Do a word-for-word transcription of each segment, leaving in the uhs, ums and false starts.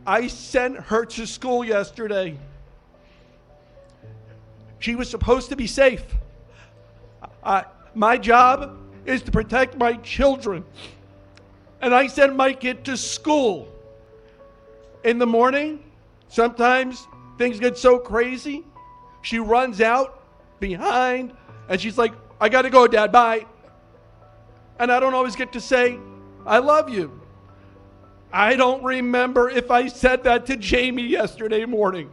I sent her to school yesterday. She was supposed to be safe. I, my job is to protect my children. And I sent my kid to school. In the morning, sometimes things get so crazy. She runs out behind and she's like, I gotta go, Dad, bye. And I don't always get to say, I love you. I don't remember if I said that to Jamie yesterday morning.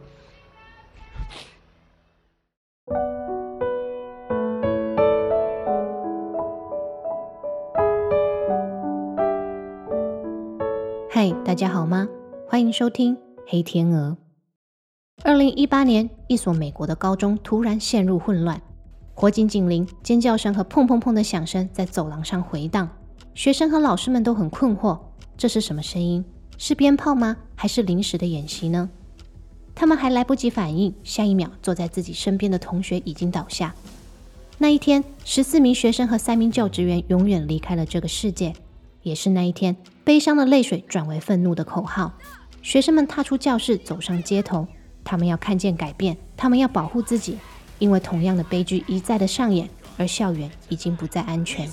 嗨，大家好吗？欢迎收听黑天鹅。二零一八年，一所美国的高中突然陷入混乱，火警警铃、尖叫声和砰砰砰的响声在走廊上回荡。学生和老师们都很困惑，这是什么声音？是鞭炮吗？还是临时的演习呢？他们还来不及反应，下一秒坐在自己身边的同学已经倒下。那一天，十四名学生和三名教职员永远离开了这个世界。也是那一天，悲伤的泪水转为愤怒的口号。学生们踏出教室，走上街头，他们要看见改变，他们要保护自己，因为同样的悲剧一再的上演，而校园已经不再安全。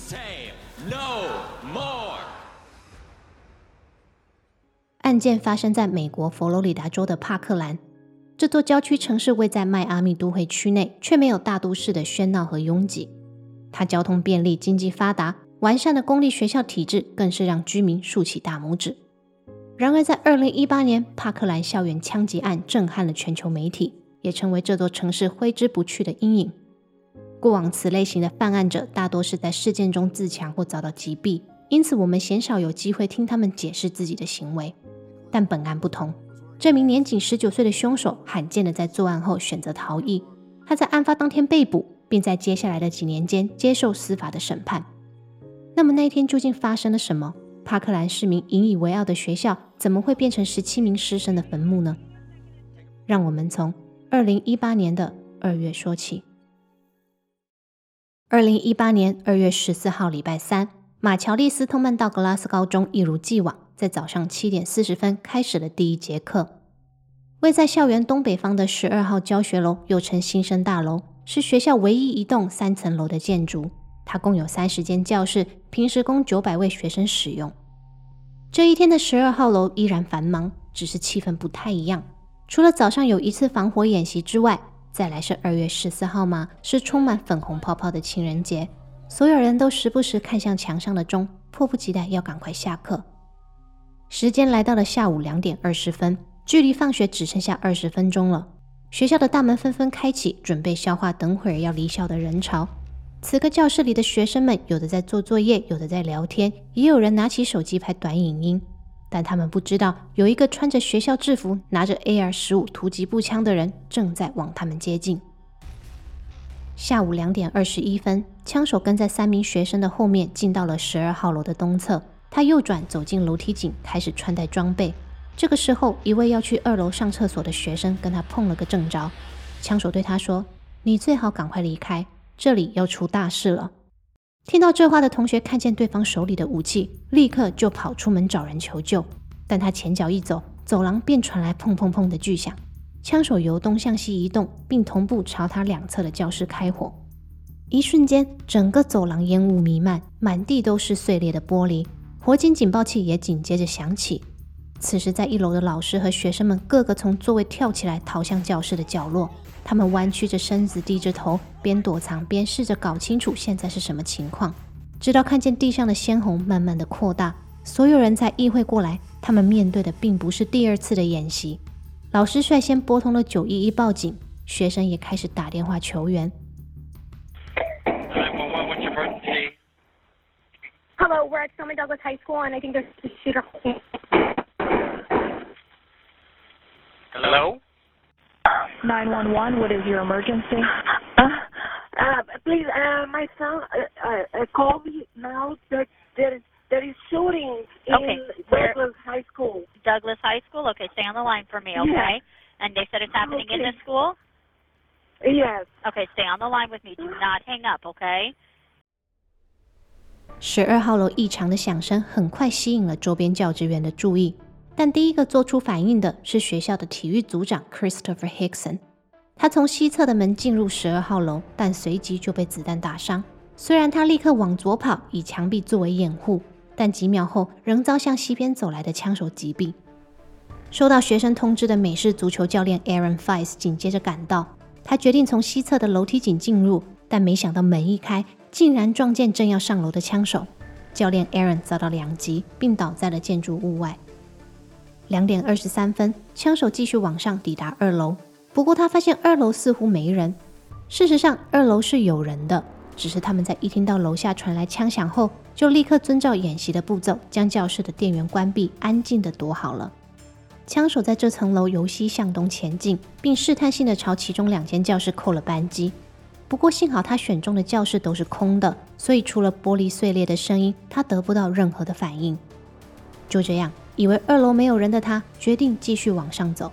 案件发生在美国佛罗里达州的帕克兰，这座郊区城市位在迈阿密都会区内，却没有大都市的喧闹和拥挤。它交通便利，经济发达，完善的公立学校体制更是让居民竖起大拇指。然而在二零一八年，帕克兰校园枪击案震撼了全球媒体，也成为这座城市挥之不去的阴影。过往此类型的犯案者大多是在事件中自强或遭到击毙，因此我们鲜少有机会听他们解释自己的行为。但本案不同，这名年仅十九岁的凶手罕见的在作案后选择逃逸，他在案发当天被捕，并在接下来的几年间接受司法的审判。那么那一天究竟发生了什么？帕克兰市民引以为傲的学校怎么会变成十七名师生的坟墓呢？让我们从二零一八年的二月说起。二零一八年二月十四号礼拜三，马乔利斯通曼道格拉斯高中一如既往在早上七点四十分开始了第一节课。位在校园东北方的十二号教学楼，又称新生大楼，是学校唯一一栋三层楼的建筑。它共有三十间教室，平时供九百位学生使用。这一天的十二号楼依然繁忙，只是气氛不太一样。除了早上有一次防火演习之外，再来是二月十四号嘛，是充满粉红泡泡的情人节。所有人都时不时看向墙上的钟，迫不及待要赶快下课。时间来到了下午两点二十分，距离放学只剩下二十分钟了。学校的大门纷纷开启，准备消化等会儿要离校的人潮。此刻教室里的学生们有的在做作业，有的在聊天，也有人拿起手机拍短影音。但他们不知道，有一个穿着学校制服拿着 A R 十五 突击步枪的人正在往他们接近。下午两点二十一分，枪手跟在三名学生的后面进到了十二号楼的东侧，他右转走进楼梯井，开始穿戴装备。这个时候，一位要去二楼上厕所的学生跟他碰了个正着。枪手对他说，你最好赶快离开，这里要出大事了。听到这话的同学看见对方手里的武器，立刻就跑出门找人求救。但他前脚一走，走廊便传来砰砰砰的巨响。枪手由东向西移动，并同步朝他两侧的教室开火。一瞬间，整个走廊烟雾弥漫，满地都是碎裂的玻璃，火警警报器也紧接着响起。此时在一楼的老师和学生们个个从座位跳起来，逃向教室的角落。他们弯曲着身子，低着头，边躲藏边试着搞清楚现在是什么情况。直到看见地上的鲜红慢慢的扩大，所有人才意会过来，他们面对的并不是第二次的演习。老师率先拨通了九一一报警，学生也开始打电话求援。 Hello, we're at Stoneman Douglas High School, and I think there's a shooter. Hello? nine one one, what is your emergency? Uh, uh, please, uh, my son uh, uh, called me now that there is, there is shooting in Okay, where- Douglas High School. Douglas High School? Okay, stay on the line for me, okay? Yeah. And they said it's happening in Okay. the school? Yes. Okay, stay on the line with me. Do not hang up, okay? 十二号楼异常的响声很快吸引了周边教职员的注意。 但第一个做出反应的是学校的体育组长 Christopher Hickson。他从西侧的门进入十二号楼，但随即就被子弹打伤。虽然他立刻往左跑，以墙壁作为掩护，但几秒后仍遭向西边走来的枪手击毙。收到学生通知的美式足球教练 Aaron Fice 紧接着赶到，他决定从西侧的楼梯井进入，但没想到门一开，竟然撞见正要上楼的枪手。教练 Aaron 遭到两击，并倒在了建筑物外。两点二十三分，枪手继续往上抵达二楼，不过他发现二楼似乎没人。事实上，二楼是有人的，只是他们在一听到楼下传来枪响后，就立刻遵照演习的步骤，将教室的电源关闭，安静地躲好了。枪手在这层楼由西向东前进，并试探性地朝其中两间教室扣了扳机。不过幸好他选中的教室都是空的，所以除了玻璃碎裂的声音，他得不到任何的反应。就这样，以为二楼没有人的他，决定继续往上走。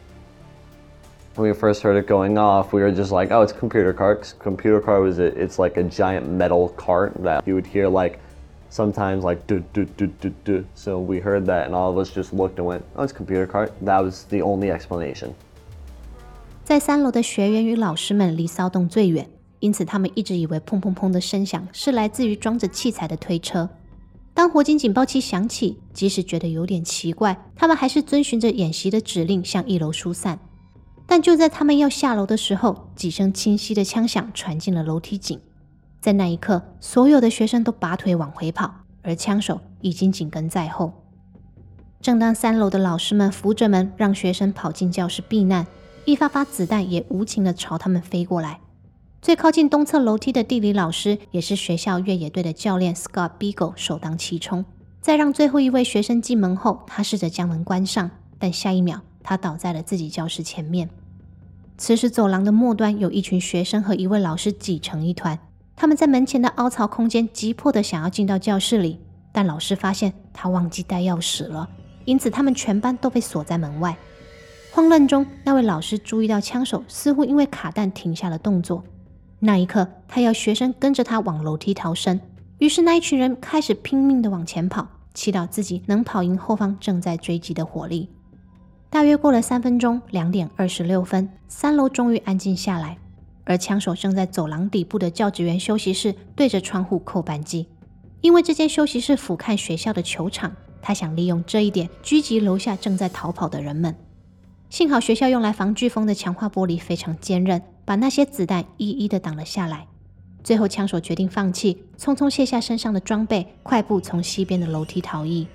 When we first heard it going off, we were just like, oh, it's a computer cart. Computer cart was a, it's like a giant metal cart that you would hear like sometimes like do do do do do. So we heard that and all of us just looked and went, oh, it's a computer cart. That was the only explanation. 在三楼的学员与老师们离骚动最远，因此他们一直以为砰砰砰的声响是来自于装着器材的推车。当火警警报器响起，即使觉得有点奇怪，他们还是遵循着演习的指令向一楼疏散。但就在他们要下楼的时候，几声清晰的枪响传进了楼梯井。在那一刻，所有的学生都拔腿往回跑，而枪手已经紧跟在后。正当三楼的老师们扶着门让学生跑进教室避难，一发发子弹也无情地朝他们飞过来。最靠近东侧楼梯的地理老师，也是学校越野队的教练 Scott Beagle 首当其冲。在让最后一位学生进门后，他试着将门关上，但下一秒他倒在了自己教室前面。此时走廊的末端有一群学生和一位老师挤成一团，他们在门前的凹槽空间急迫地想要进到教室里，但老师发现他忘记带钥匙了，因此他们全班都被锁在门外。慌乱中，那位老师注意到枪手似乎因为卡弹停下了动作，那一刻他要学生跟着他往楼梯逃生，于是那一群人开始拼命地往前跑，祈祷自己能跑赢后方正在追击的火力。大约过了三分钟，两点二十六分，三楼终于安静下来，而枪手正在走廊底部的教职员休息室对着窗户扣扳机。因为这间休息室俯瞰学校的球场，他想利用这一点狙击楼下正在逃跑的人们。幸好学校用来防飓风的强化玻璃非常坚韧，把那些子弹一一的挡了下来。最后枪手决定放弃，匆匆卸下身上的装备，快步从西边的楼梯逃逸。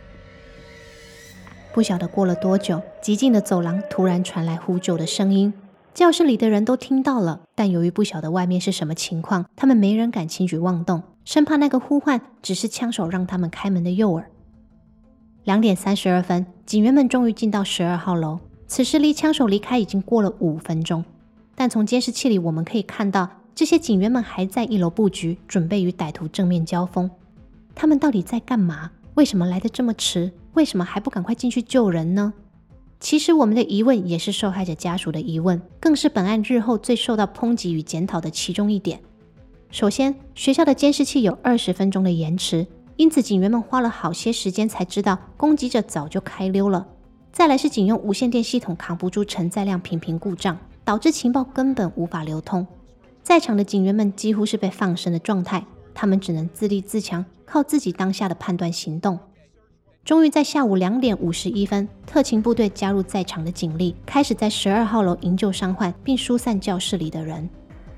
不晓得过了多久，寂静的走廊突然传来呼救的声音。教室里的人都听到了，但由于不晓得外面是什么情况，他们没人敢轻举妄动，生怕那个呼唤只是枪手让他们开门的诱饵。两点三十二分，警员们终于进到十二号楼。此时离枪手离开已经过了五分钟，但从监视器里我们可以看到，这些警员们还在一楼布局，准备与歹徒正面交锋。他们到底在干嘛？为什么来得这么迟？为什么还不赶快进去救人呢？其实我们的疑问也是受害者家属的疑问，更是本案日后最受到抨击与检讨的其中一点。首先，学校的监视器有二十分钟的延迟，因此警员们花了好些时间才知道攻击者早就开溜了。再来是警用无线电系统扛不住承载量频频故障，导致情报根本无法流通。在场的警员们几乎是被放生的状态，他们只能自立自强，靠自己当下的判断行动。终于在下午两点五十一分，特勤部队加入在场的警力，开始在十二号楼营救伤患，并疏散教室里的人。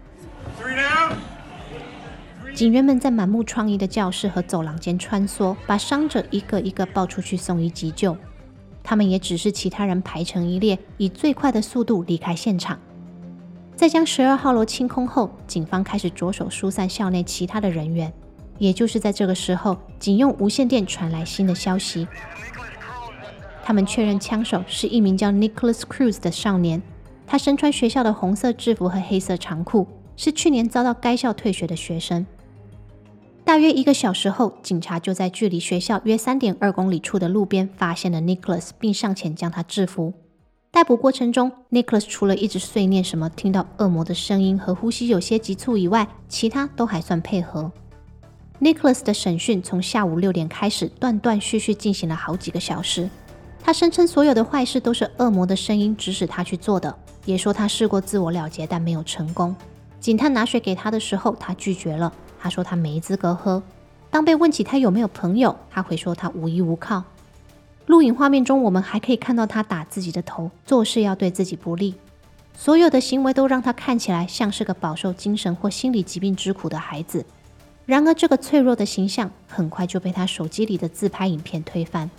警员们在满目疮痍的教室和走廊间穿梭，把伤者一个一个抱出去送医急救。他们也指示其他人排成一列，以最快的速度离开现场。在将十二号楼清空后，警方开始着手疏散校内其他的人员。也就是在这个时候，警用无线电传来新的消息。他们确认枪手是一名叫 Nicholas Cruz 的少年，他身穿学校的红色制服和黑色长裤，是去年遭到该校退学的学生。大约一个小时后，警察就在距离学校约 三点二公里处的路边发现了 Nicholas， 并上前将他制服。逮捕过程中， Nicholas 除了一直碎念什么听到恶魔的声音和呼吸有些急促以外，其他都还算配合。Nicholas 的审讯从下午六点开始，断断续续进行了好几个小时。 他声称所有的坏事都是恶魔的声音指使他去做的，也说他试过自我了结但没有成功。警探拿水给他的时候，他拒绝了，他说他没资格喝。当被问起他有没有朋友，他会说他无依无靠。录影画面中，我们还可以看到他打自己的头，做事要对自己不利。所有的行为都让他看起来像是个饱受精神或心理疾病之苦的孩子。然而这个脆弱的形象很快就被他手机里的自拍影片推翻。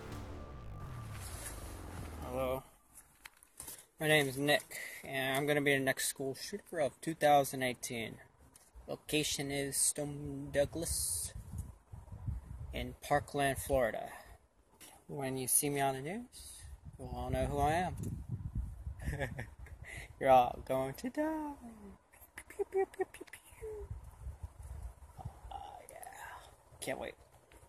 Hello, my name is Nick, and I'm going to be the next school shooter of two thousand eighteen. Location is Stone Douglas in Parkland, Florida. When you see me on the news, you'll all know who I am. You're all going to die. Pew, pew, pew, pew, pew. Oh, yeah. Can't wait.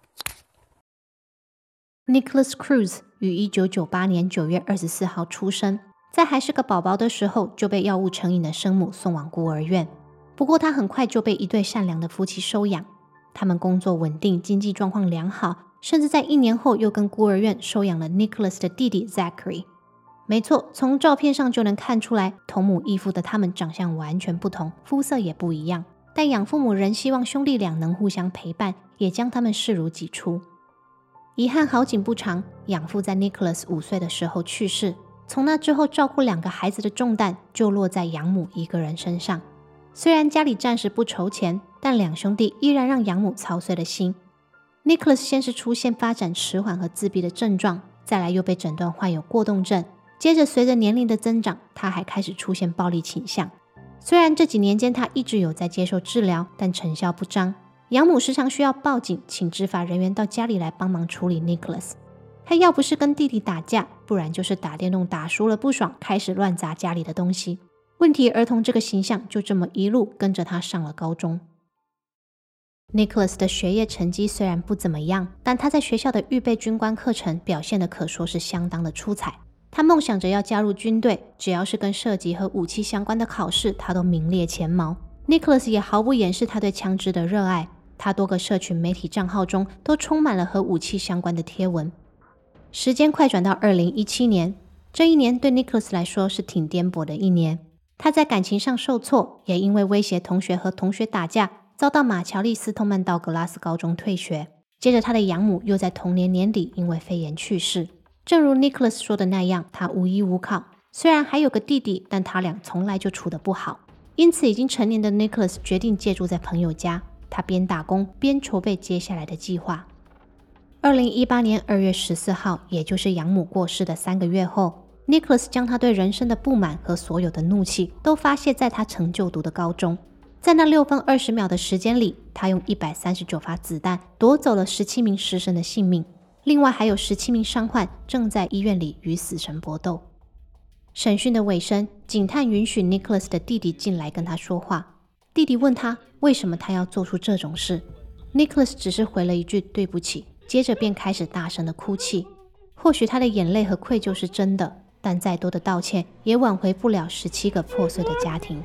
Nicholas Cruz 于一九九八年九月二十四号出生，在还是个宝宝的时候就被药物成瘾的生母送往孤儿院。不过他很快就被一对善良的夫妻收养，他们工作稳定，经济状况良好，甚至在一年后又跟孤儿院收养了 Nicholas 的弟弟 Zachary。没错，从照片上就能看出来，同母异父的他们长相完全不同，肤色也不一样，但养父母仍希望兄弟俩能互相陪伴，也将他们视如己出。遗憾好景不长，养父在 Nicholas 五岁的时候去世，从那之后照顾两个孩子的重担就落在养母一个人身上。虽然家里暂时不筹钱，但两兄弟依然让养母操碎了心。Nicholas 先是出现发展迟缓和自闭的症状，再来又被诊断患有过动症，接着随着年龄的增长，他还开始出现暴力倾向。虽然这几年间他一直有在接受治疗，但成效不彰。养母时常需要报警，请执法人员到家里来帮忙处理 Nicholas。他要不是跟弟弟打架，不然就是打电动打输了不爽，开始乱砸家里的东西。问题儿童这个形象就这么一路跟着他上了高中。Nicholas 的学业成绩虽然不怎么样，但他在学校的预备军官课程表现的可说是相当的出彩。他梦想着要加入军队，只要是跟射击和武器相关的考试，他都名列前茅。Nicholas 也毫不掩饰他对枪支的热爱，他多个社群媒体账号中都充满了和武器相关的贴文。时间快转到二零一七年，这一年对 Nicholas 来说是挺颠簸的一年。他在感情上受挫，也因为威胁同学和同学打架，遭到马乔利斯通曼道格拉斯高中退学。接着他的养母又在同年年底因为肺炎去世。正如 Nicholas 说的那样，他无依无靠，虽然还有个弟弟，但他俩从来就处得不好。因此已经成年的 Nicholas 决定借住在朋友家，他边打工边筹备接下来的计划。二零一八年二月十四号，也就是养母过世的三个月后， Nicholas 将他对人生的不满和所有的怒气都发泄在他曾就读的高中。在那六分二十秒的时间里，他用一百三十九发子弹夺走了十七名师生的性命，另外还有十七名伤患正在医院里与死神搏斗。审讯的尾声，警探允许 Nicholas 的弟弟进来跟他说话。弟弟问他为什么他要做出这种事， Nicholas 只是回了一句对不起，接着便开始大声的哭泣。或许他的眼泪和愧疚是真的，但再多的道歉也挽回不了十七个破碎的家庭。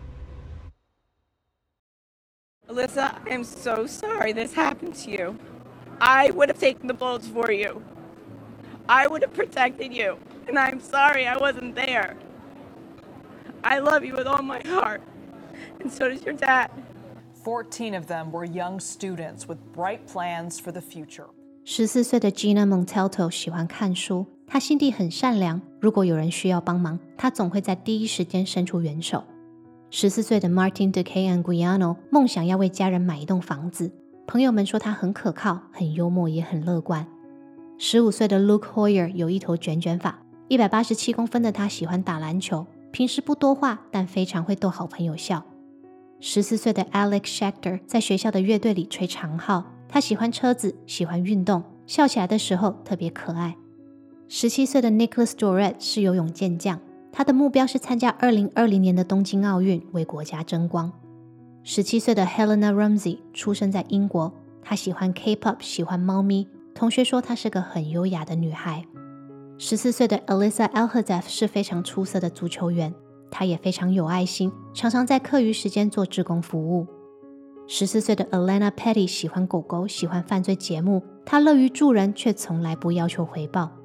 Alyssa, I'm so sorry this happened to you. I would have taken the bullets for you. I would have protected you. And I'm sorry I wasn't there. I love you with all my heart. And so does your dad. fourteen of them were young students with bright plans for the future. 十四岁的 Gina Montalto 喜欢看书，她心地很善良，如果有人需要帮忙，她总会在第一时间伸出援手。十四岁的 Martin DeCay Anguiano 梦想要为家人买一栋房子，朋友们说他很可靠，很幽默，也很乐观。十五岁的 Luke Hoyer 有一头卷卷发，一百八十七公分的他喜欢打篮球，平时不多话，但非常会逗好朋友笑。十四岁的 Alex Schechter 在学校的乐队里吹长号，他喜欢车子，喜欢运动，笑起来的时候特别可爱。十七岁的 Nicholas Doret 是游泳健将，他的目标是参加二零二零年的东京奥运，为国家争光。十七岁的 Helena Ramsey 出生在英国，她喜欢 K-pop， 喜欢猫咪，同学说她是个很优雅的女孩。十四岁的 Alyssa Alhadeff 是非常出色的足球员，她也非常有爱心，常常在课余时间做志工服务。十四岁的 Alana Petty 喜欢狗狗，喜欢犯罪节目，她乐于助人，却从来不要求回报。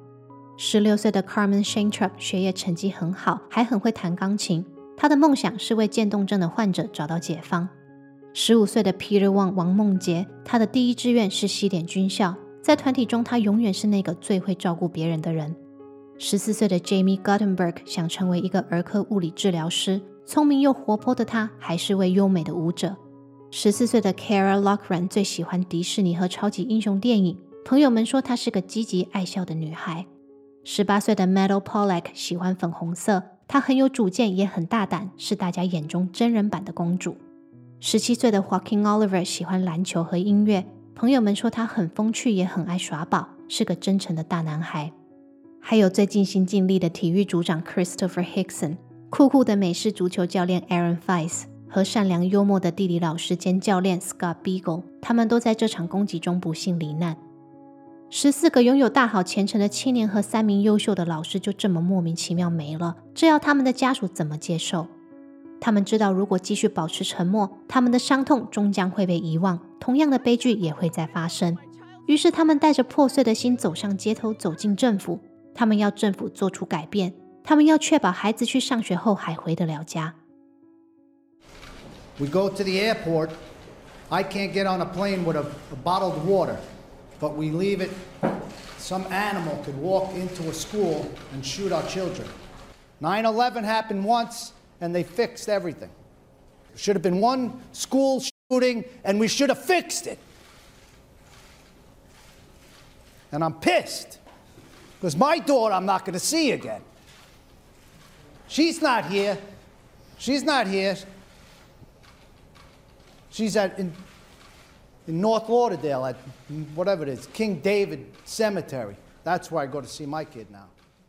十六岁的 Carmen Shaintrup 学业成绩很好，还很会弹钢琴。他的梦想是为渐冻症的患者找到解方。十五岁的 Peter Wang 王梦洁，他的第一志愿是西点军校，在团体中他永远是那个最会照顾别人的人。十四岁的 Jamie Guttenberg 想成为一个儿科物理治疗师，聪明又活泼的他还是位优美的舞者。十四岁的 Kara Loughran 最喜欢迪士尼和超级英雄电影，朋友们说她是个积极爱笑的女孩。十八岁的 Meadow Pollack 喜欢粉红色，她很有主见也很大胆，是大家眼中真人版的公主。十七岁的 Joaquin Oliver 喜欢篮球和音乐，朋友们说他很风趣也很爱耍宝，是个真诚的大男孩。还有最尽心尽力的体育组长 Christopher Hickson， 酷酷的美式足球教练 Aaron Feis 和善良幽默的地理老师兼教练 Scott Beagle， 他们都在这场攻击中不幸罹难。十四个拥有大好前程的青年和三名优秀的老师就这么莫名其妙没了，这要他们的家属怎么接受？他们知道如果继续保持沉默，他们的伤痛终将会被遗忘，同样的悲剧也会再发生。于是他们带着破碎的心走上街头，走进政府。他们要政府做出改变，他们要确保孩子去上学后还回得了家。 We go to the airport. I can't get on a plane with a, a bottled water, but we leave it. Some animal could walk into a school and shoot our children. nine eleven happened once, and they fixed everything. There should have been one school shooting, and we should have fixed it. And I'm pissed, because my daughter I'm not going to see again. She's not here. She's not here. She's at in, in North Lauderdale at whatever it is, King David Cemetery. That's where I go to see my kid now.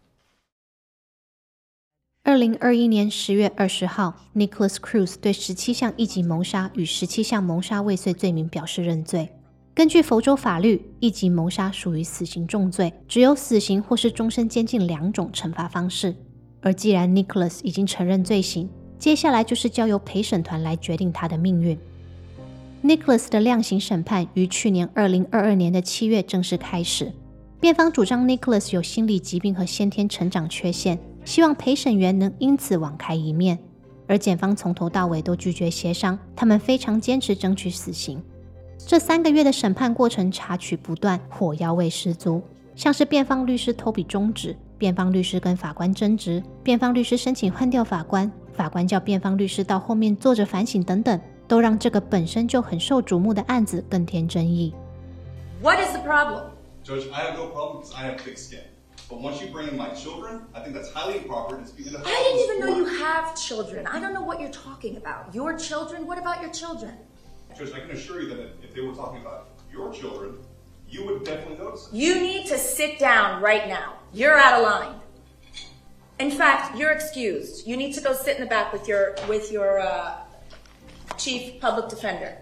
二零二一年十月二十号 Nicholas Cruz 对十七项一级谋杀与十七项谋杀未遂罪名表示认罪。根据佛州法律，一级谋杀属于死刑重罪，只有死刑或是终身监禁两种惩罚方式。而既然 Nicholas 已经承认罪行，接下来就是交由陪审团来决定他的命运。Nicholas 的量刑审判于去年二零二二年的七月正式开始。辩方主张 Nicholas 有心理疾病和先天成长缺陷，希望陪审员能因此网开一面。而检方从头到尾都拒绝协商，他们非常坚持争取死刑。这三个月的审判过程插曲不断，火药味十足，像是辩方律师偷笔中指，辩方律师跟法官争执，辩方律师申请换掉法官，法官叫辩方律师到后面坐着反省等等，都让这个本身就很受瞩目的案子更添争议。 What is the problem? Judge, I have no problem because I have thick skin. But once you bring in my children, I think that's highly improper. It's being I didn't even know you have children. I don't know what you're talking about. Your children? What about your children? Judge, I can assure you that if they were talking about your children, you would definitely notice it. You need to sit down right now. You're out of line. In fact, you're excused. You need to go sit in the back with your with your uh, chief public defender.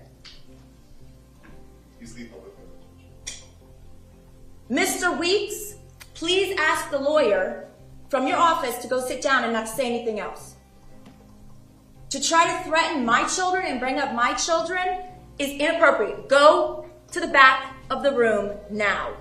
He's the public defender. Mister Weeks, please ask the lawyer from your office to go sit down and not say anything else. To try to threaten my children and bring up my children is inappropriate. Go to the back of the room now.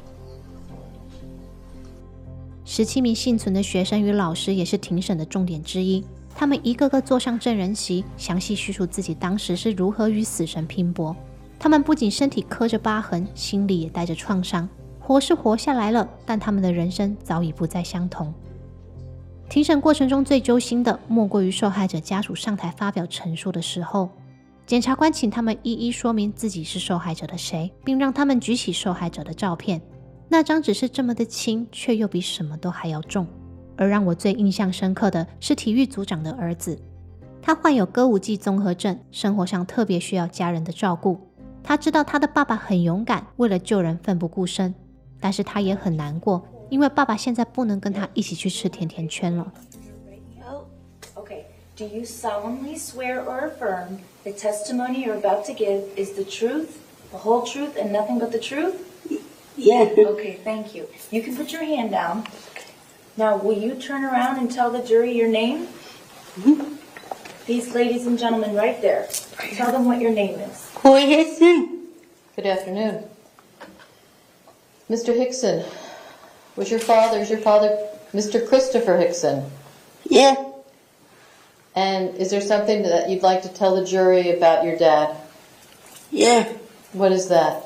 十七名幸存的学生与老师也是庭审的重点之一，他们一个个坐上证人席，详细叙述自己当时是如何与死神拼搏。他们不仅身体刻着疤痕，心里也带着创伤。活是活下来了，但他们的人生早已不再相同。庭审过程中最揪心的，莫过于受害者家属上台发表陈述的时候，检察官请他们一一说明自己是受害者的谁，并让他们举起受害者的照片。那张只是这么的轻，却又比什么都还要重。而让我最印象深刻的是体育组长的儿子，他患有歌舞伎综合症，生活上特别需要家人的照顾。他知道他的爸爸很勇敢，为了救人奋不顾身，但是他也很难过，因为爸爸现在不能跟他一起去吃甜甜圈了。 Okay, do you solemnly swear or affirm the testimony you're about to give is the truth, the whole truth, and nothing but the truth? Yes. Okay, thank you. You can put your hand down. Now, will you turn around and tell the jury your name? Mm-hmm. These ladies and gentlemen right there. Tell them what your name is. Who is he? Good afternoon. Mister Hickson, Was your father, is your father Mister Christopher Hickson? Yeah. And is there something that you'd like to tell the jury about your dad? Yeah. What is that?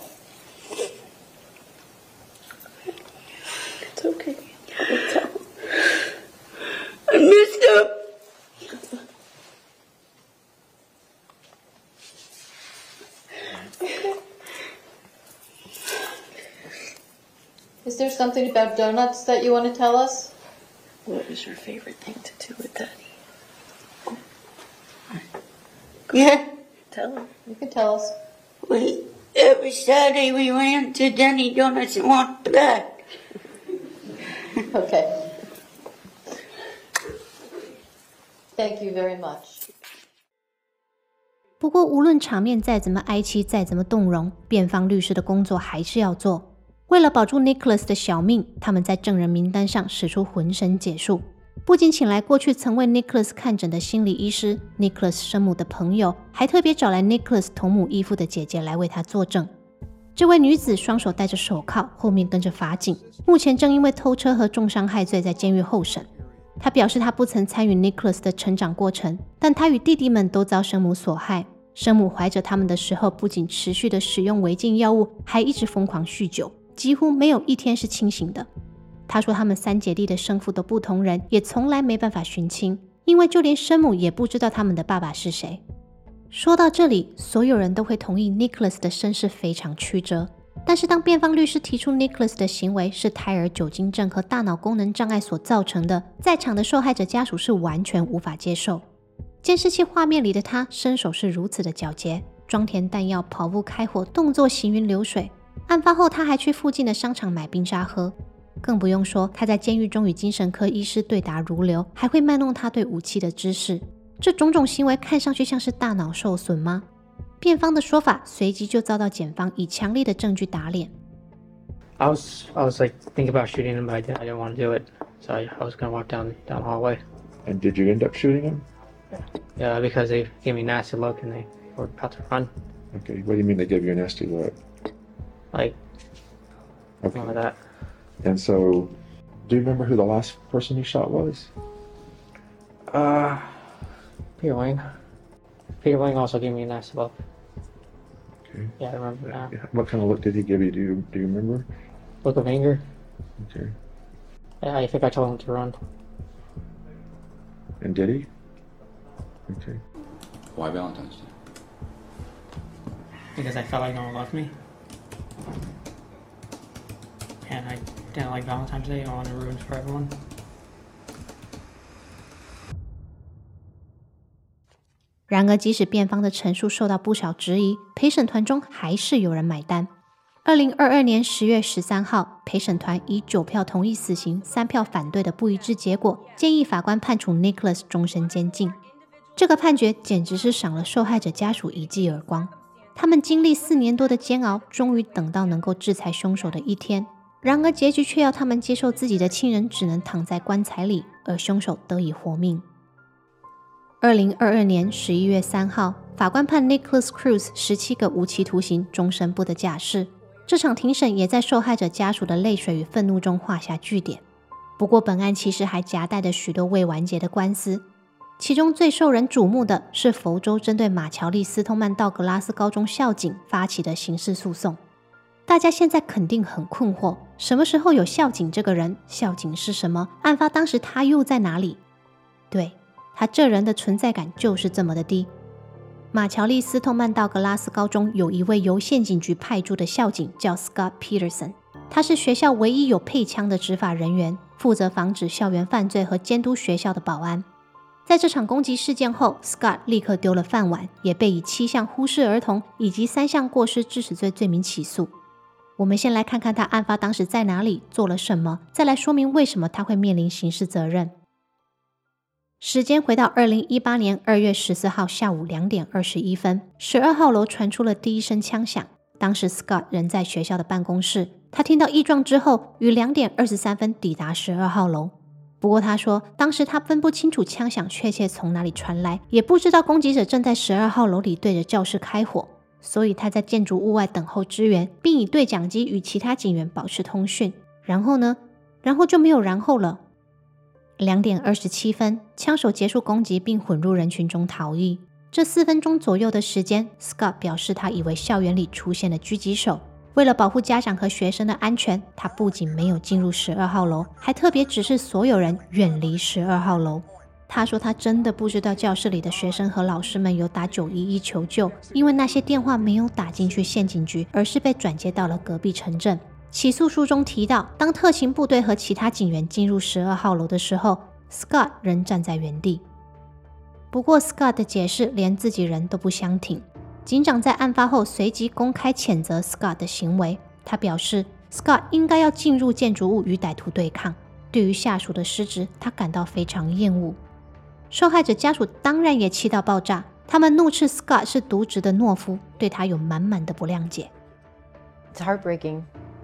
It's okay. It's all. I messed up. Is there something about donuts that you want to tell us? What is your favorite thing to do with Daddy? Yeah. Tell him. You can tell us. We, every Saturday we went to Denny Donuts and walked back. Okay. Thank you very much. 不过无论场面再怎么哀戚，再怎么动容，辩方律师的工作还是要做。为了保住 Nicholas 的小命，他们在证人名单上使出浑身解数，不仅请来过去曾为 Nicholas 看诊的心理医师 Nicholas 生母的朋友，还特别找来 Nicholas 同母异父的姐姐来为他作证。这位女子双手戴着手铐，后面跟着法警，目前正因为偷车和重伤害罪在监狱候审。她表示她不曾参与 Nicholas 的成长过程，但她与弟弟们都遭生母所害。生母怀着他们的时候，不仅持续的使用违禁药物，还一直疯狂酗酒，几乎没有一天是清醒的。她说他们三姐弟的生父都不同人，也从来没办法寻亲，因为就连生母也不知道他们的爸爸是谁。说到这里，所有人都会同意 Nicholas 的身世非常曲折，但是当辩方律师提出 Nicholas 的行为是胎儿酒精症和大脑功能障碍所造成的，在场的受害者家属是完全无法接受。监视器画面里的他身手是如此的矫捷，装填弹药、跑步开火，动作行云流水。案发后他还去附近的商场买冰沙喝，更不用说他在监狱中与精神科医师对答如流，还会卖弄他对武器的知识。这种种行为看上去像是大脑受损吗？辩方的说法随即就遭到检方以强力的证据打脸。 I was I was like thinking about shooting him, but I didn't, I didn't want to do it, so I, I was gonna walk down down the hallway. And did you end up shooting him? Yeah, because they gave me a nasty look and they were about to run. Okay, what do you mean they gave you a nasty look? Like, okay. Like that. And so, do you remember who the last person you shot was? Uh, Peter Wing. Peter Wing also gave me a nasty look. Okay. Yeah, I remember now. What kind of look did he give you? Do you, do you remember? Look of anger. Okay. Yeah, I think I told him to run. And did he? Okay. Why Valentine's Day? Because I felt like no one loved me. And I didn't like Valentine's Day. I wanted to ruin it for everyone. 然而，即使辩方的陈述受到不少质疑，陪审团中还是有人买单。二零二二年十月十三号，陪审团以九票同意死刑、三票反对的不一致结果，建议法官判处 Nicholas 终身监禁。这个判决简直是赏了受害者家属一记耳光。他们经历四年多的煎熬，终于等到能够制裁凶手的一天。然而，结局却要他们接受自己的亲人只能躺在棺材里，而凶手得以活命。二零二二年十一月三号，法官判 Nicholas Cruz 十七个无期徒刑，终身不得假释。这场庭审也在受害者家属的泪水与愤怒中画下句点。不过，本案其实还夹带着许多未完结的官司，其中最受人瞩目的是佛州针对马乔丽·斯通曼道格拉斯高中校警发起的刑事诉讼。大家现在肯定很困惑，什么时候有校警这个人？校警是什么？案发当时他又在哪里？对，他这人的存在感就是这么的低。马乔丽·斯通曼道格拉斯高中有一位由县警局派驻的校警叫 Scott Peterson， 他是学校唯一有配枪的执法人员，负责防止校园犯罪和监督学校的保安。在这场攻击事件后， Scott 立刻丢了饭碗，也被以七项忽视儿童以及三项过失致死罪罪名起诉。我们先来看看他案发当时在哪里，做了什么，再来说明为什么他会面临刑事责任。时间回到二零一八年二月十四号下午两点二十一分，十二号楼传出了第一声枪响。当时 Scott 人在学校的办公室，他听到异状之后，于两点二十三分抵达十二号楼。不过他说，当时他分不清楚枪响确切从哪里传来，也不知道攻击者正在十二号楼里对着教室开火，所以他在建筑物外等候支援，并以对讲机与其他警员保持通讯。然后呢， 然后就没有然后了。两点二十七分，枪手结束攻击并混入人群中逃逸。这四分钟左右的时间 ，Scott 表示他以为校园里出现了狙击手。为了保护家长和学生的安全，他不仅没有进入十二号楼，还特别指示所有人远离十二号楼。他说他真的不知道教室里的学生和老师们有打九一一求救，因为那些电话没有打进去县警局，而是被转接到了隔壁城镇。起诉书中提到，当特勤部队和其他警员进入十二号楼的时候， Scott 仍站在原地。不过 Scott 的解释连自己人都不相挺。警长在案发后随即公开谴责 Scott 的行为，他表示 Scott 应该要进入建筑物与歹徒对抗。对于下属的失职，他感到非常厌恶。受害者家属当然也气到爆炸，他们怒斥 Scott 是渎职的懦夫，对他有满满的不谅解。 It's heartbreaking.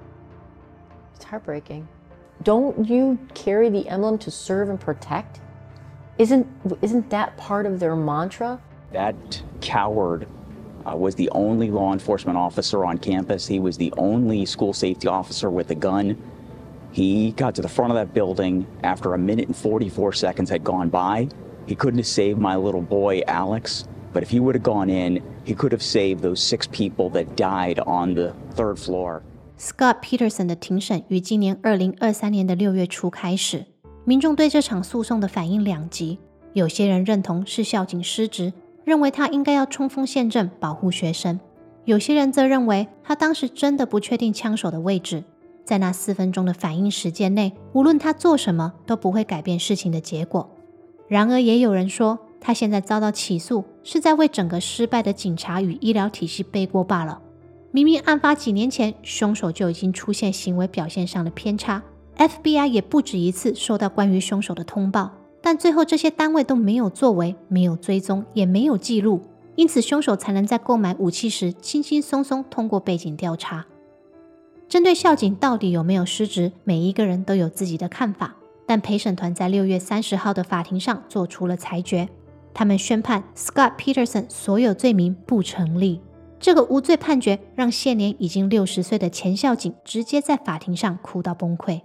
It's heartbreaking. Don't you carry the emblem to serve and protect? Isn't, isn't that part of their mantra? That coward uh, was the only law enforcement officer on campus. He was the only school safety officer with a gun. He got to the front of that building after a minute and forty-four seconds had gone by. He couldn't have saved my little boy, Alex, but if he would have gone in, he could have saved those six people that died on the third floor. Scott Peterson 的庭审于今年二零二三年的六月初开始，民众对这场诉讼的反应两极，有些人认同是校警失职，认为他应该要冲锋陷阵保护学生，有些人则认为他当时真的不确定枪手的位置，在那四分钟的反应时间内，无论他做什么都不会改变事情的结果。然而也有人说，他现在遭到起诉是在为整个失败的警察与医疗体系背锅罢了。明明案发几年前，凶手就已经出现行为表现上的偏差， F B I 也不止一次收到关于凶手的通报，但最后这些单位都没有作为，没有追踪，也没有记录，因此凶手才能在购买武器时轻轻松松通过背景调查。针对校警到底有没有失职，每一个人都有自己的看法，但陪审团在六月三十号的法庭上做出了裁决，他们宣判 Scott Peterson 所有罪名不成立。这个无罪判决让现年已经六十岁的前校警直接在法庭上哭到崩溃。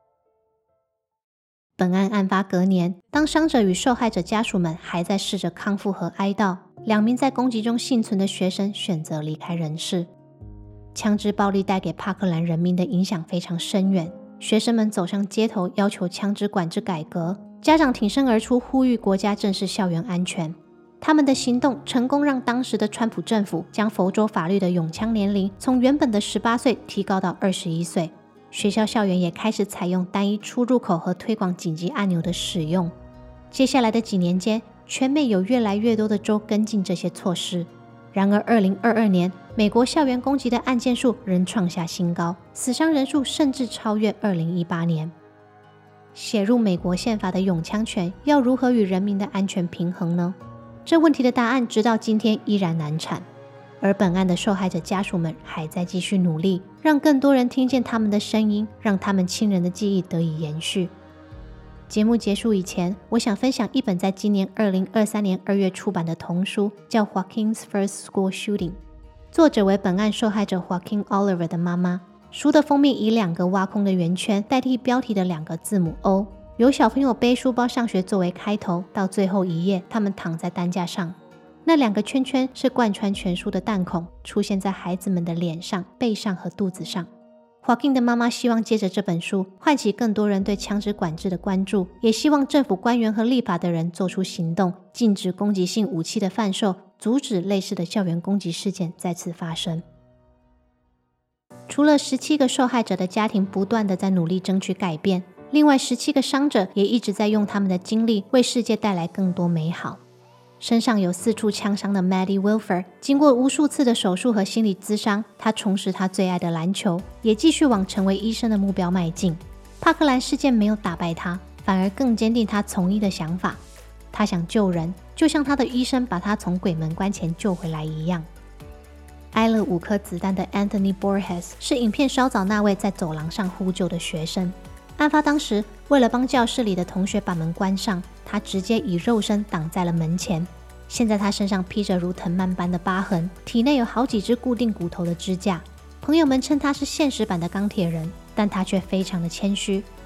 本案案发隔年，当伤者与受害者家属们还在试着康复和哀悼，两名在攻击中幸存的学生选择离开人世。枪支暴力带给帕克兰人民的影响非常深远，学生们走上街头要求枪支管制改革，家长挺身而出呼吁国家正视校园安全。他们的行动成功让当时的川普政府将佛州法律的拥枪年龄从原本的十八岁提高到二十一岁，学校校园也开始采用单一出入口和推广紧急按钮的使用。接下来的几年间，全美有越来越多的州跟进这些措施。然而二零二二年，美国校园攻击的案件数仍创下新高，死伤人数甚至超越二零一八年。写入美国宪法的拥枪权要如何与人民的安全平衡呢？这问题的答案直到今天依然难产，而本案的受害者家属们还在继续努力，让更多人听见他们的声音，让他们亲人的记忆得以延续。节目结束以前，我想分享一本在今年二零二三年二月出版的童书，叫 Joaquin's First School Shooting， 作者为本案受害者 Joaquin Oliver 的妈妈。书的封面以两个挖空的圆圈代替标题的两个字母 O， 由小朋友背书包上学作为开头，到最后一页他们躺在担架上，那两个圈圈是贯穿全书的弹孔，出现在孩子们的脸上、背上和肚子上。Joaquin 的妈妈希望借着这本书唤起更多人对枪支管制的关注，也希望政府官员和立法的人做出行动，禁止攻击性武器的贩售，阻止类似的校园攻击事件再次发生。除了十七个受害者的家庭不断地在努力争取改变，另外十七个伤者也一直在用他们的经历为世界带来更多美好。身上有四处枪伤的 Maddie Wilfer 经过无数次的手术和心理咨商，他重拾他最爱的篮球，也继续往成为医生的目标迈进。帕克兰事件没有打败他，反而更坚定他从医的想法。他想救人，就像他的医生把他从鬼门关前救回来一样。挨了五颗子弹的 Anthony Borges 是影片稍早那位在走廊上呼救的学生。案发当时，为了帮教室里的同学把门关上，他直接以肉身挡在了门前。现在他身上披着如藤蔓般的疤痕，体内有好几只固定骨头的支架。朋友们称他是现实版的钢铁人，但他却非常的谦虚。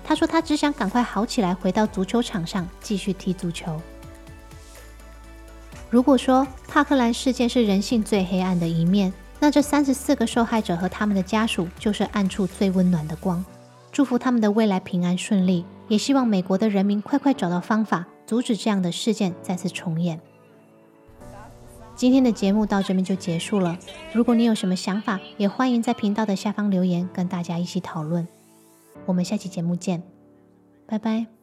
他说他只想赶快好起来，回到足球场上继续踢足球。如果说帕克兰事件是人性最黑暗的一面，那这三十四个受害者和他们的家属就是暗处最温暖的光。祝福他们的未来平安顺利，也希望美国的人民快快找到方法，阻止这样的事件再次重演。今天的节目到这边就结束了，如果你有什么想法，也欢迎在频道的下方留言，跟大家一起讨论。我们下期节目见，拜拜。